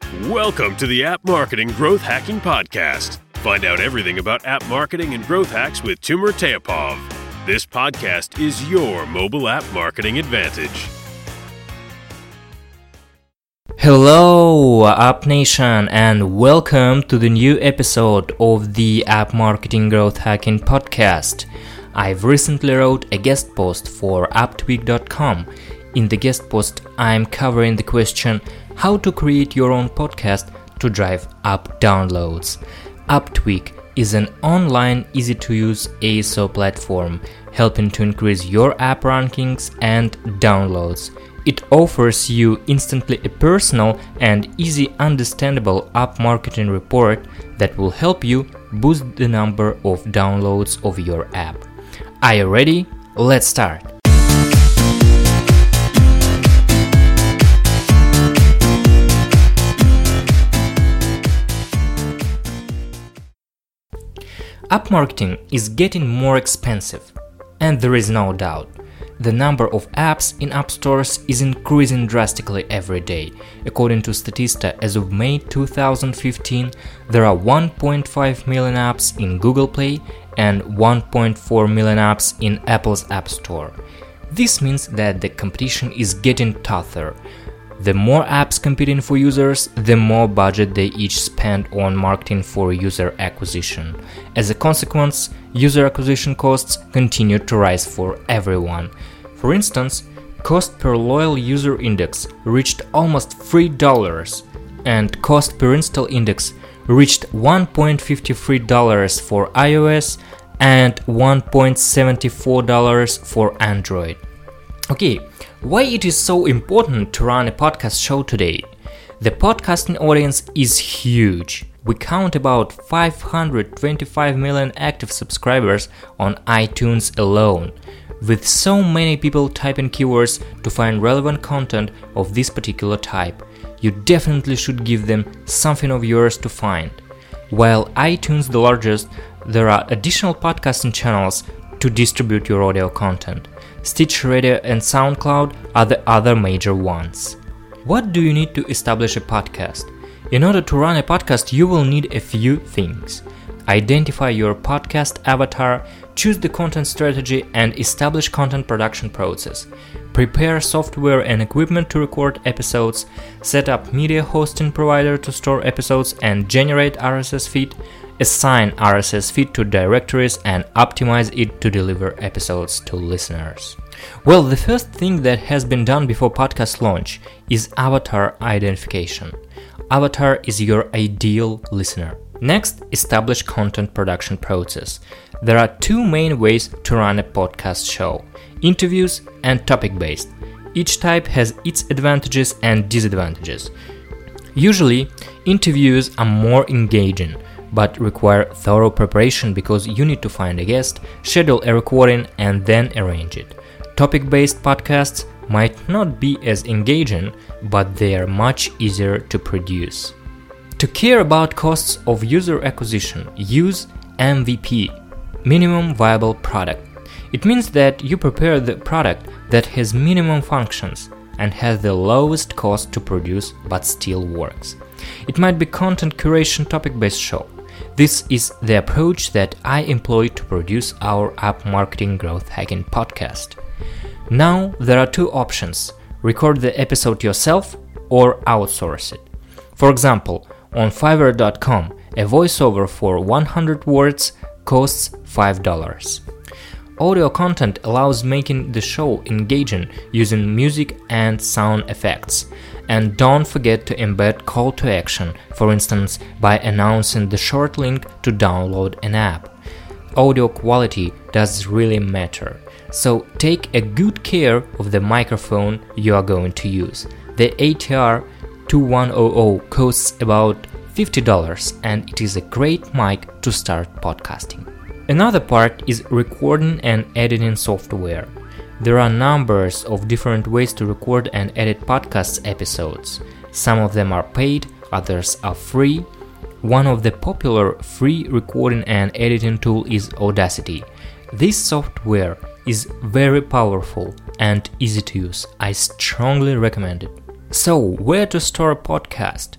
Welcome to the App Marketing Growth Hacking Podcast. Find out everything about app marketing and growth hacks with Timur Teapov. This podcast is your mobile app marketing advantage. Hello, App Nation, and welcome to the new episode of the App Marketing Growth Hacking Podcast. I've recently wrote a guest post for apptweak.com. In the guest post, I'm covering the question how to create your own podcast to drive app downloads. Apptweak is an online, easy-to-use ASO platform helping to increase your app rankings and downloads. It offers you instantly a personal and easy understandable app marketing report that will help you boost the number of downloads of your app. Are you ready? Let's start! App marketing is getting more expensive, and there is no doubt. The number of apps in app stores is increasing drastically every day. According to Statista, as of May 2015, there are 1.5 million apps in Google Play and 1.4 million apps in Apple's App Store. This means that the competition is getting tougher. The more apps competing for users, the more budget they each spend on marketing for user acquisition. As a consequence, user acquisition costs continue to rise for everyone. For instance, cost per loyal user index reached almost $3, and cost per install index reached $1.53 for iOS and $1.74 for Android. Okay, why it is so important to run a podcast show today? The podcasting audience is huge. We count about 525 million active subscribers on iTunes alone. With so many people typing keywords to find relevant content of this particular type, you definitely should give them something of yours to find. While iTunes the largest, there are additional podcasting channels to distribute your audio content. Stitcher Radio and SoundCloud are the other major ones. What do you need to establish a podcast? In order to run a podcast, you will need a few things. Identify your podcast avatar, choose the content strategy, and establish content production process. Prepare software and equipment to record episodes, set up media hosting provider to store episodes and generate RSS feed, assign RSS feed to directories and optimize it to deliver episodes to listeners. Well, the first thing that has been done before podcast launch is avatar identification. Avatar is your ideal listener. Next, establish content production process. There are two main ways to run a podcast show: interviews and topic-based. Each type has its advantages and disadvantages. Usually, interviews are more engaging, but require thorough preparation because you need to find a guest, schedule a recording, and then arrange it. Topic-based podcasts might not be as engaging, but they are much easier to produce. To care about costs of user acquisition, use MVP, Minimum Viable Product. It means that you prepare the product that has minimum functions and has the lowest cost to produce but still works. It might be content curation topic-based show. This is the approach that I employ to produce our App Marketing Growth Hacking Podcast. Now there are two options: record the episode yourself or outsource it. For example, on Fiverr.com, a voiceover for 100 words costs $5. Audio content allows making the show engaging using music and sound effects. And don't forget to embed call to action, for instance, by announcing the short link to download an app. Audio quality does really matter, so take a good care of the microphone you are going to use. The ATR 2100 costs about $50 and it is a great mic to start podcasting. Another part is recording and editing software. There are numbers of different ways to record and edit podcast episodes. Some of them are paid, others are free. One of the popular free recording and editing tool is Audacity. This software is very powerful and easy to use. I strongly recommend it. So, where to store a podcast?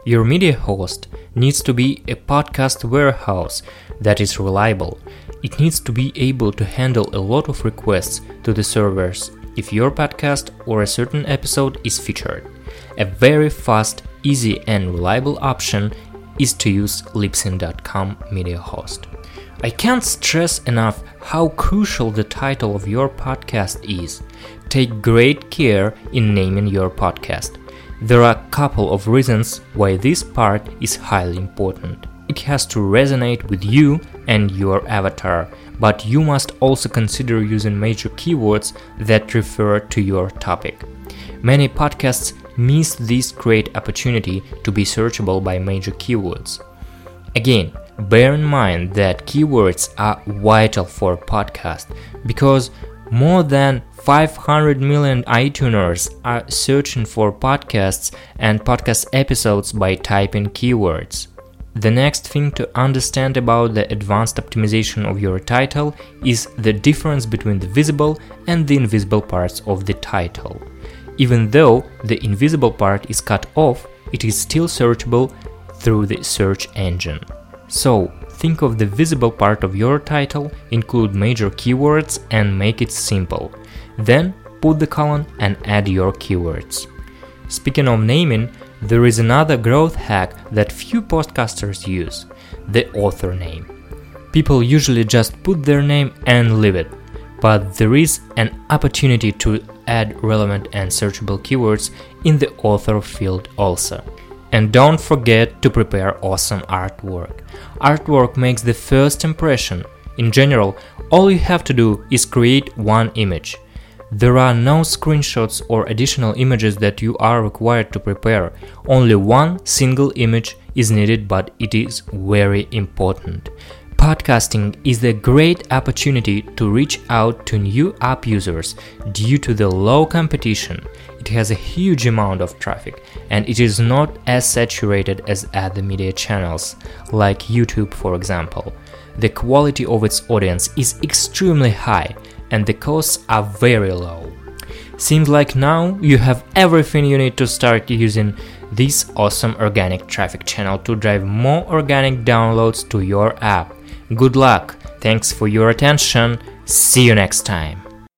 Your media host needs to be a podcast warehouse that is reliable. It needs to be able to handle a lot of requests to the servers if your podcast or a certain episode is featured. A very fast, easy and reliable option is to use Libsyn.com media host. I can't stress enough how crucial the title of your podcast is. Take great care in naming your podcast. There are a couple of reasons why this part is highly important. It has to resonate with you and your avatar, but you must also consider using major keywords that refer to your topic. Many podcasts miss this great opportunity to be searchable by major keywords. Again, bear in mind that keywords are vital for a podcast because more than 500 million iTuners are searching for podcasts and podcast episodes by typing keywords. The next thing to understand about the advanced optimization of your title is the difference between the visible and the invisible parts of the title. Even though the invisible part is cut off, it is still searchable through the search engine. So, think of the visible part of your title, include major keywords and make it simple. Then, put the colon and add your keywords. Speaking of naming, there is another growth hack that few podcasters use, the author name. People usually just put their name and leave it, but there is an opportunity to add relevant and searchable keywords in the author field also. And don't forget to prepare awesome artwork. Artwork makes the first impression. In general, all you have to do is create one image. There are no screenshots or additional images that you are required to prepare. Only one single image is needed, but it is very important. Podcasting is a great opportunity to reach out to new app users due to the low competition. It has a huge amount of traffic and it is not as saturated as other media channels, like YouTube for example. The quality of its audience is extremely high and the costs are very low. Seems like now you have everything you need to start using this awesome organic traffic channel to drive more organic downloads to your app. Good luck! Thanks for your attention. See you next time.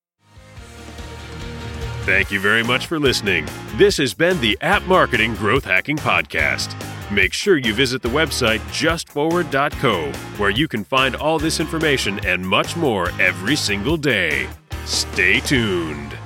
Thank you very much for listening. This has been the App Marketing Growth Hacking Podcast. Make sure you visit the website justforward.co, where you can find all this information and much more every single day. Stay tuned.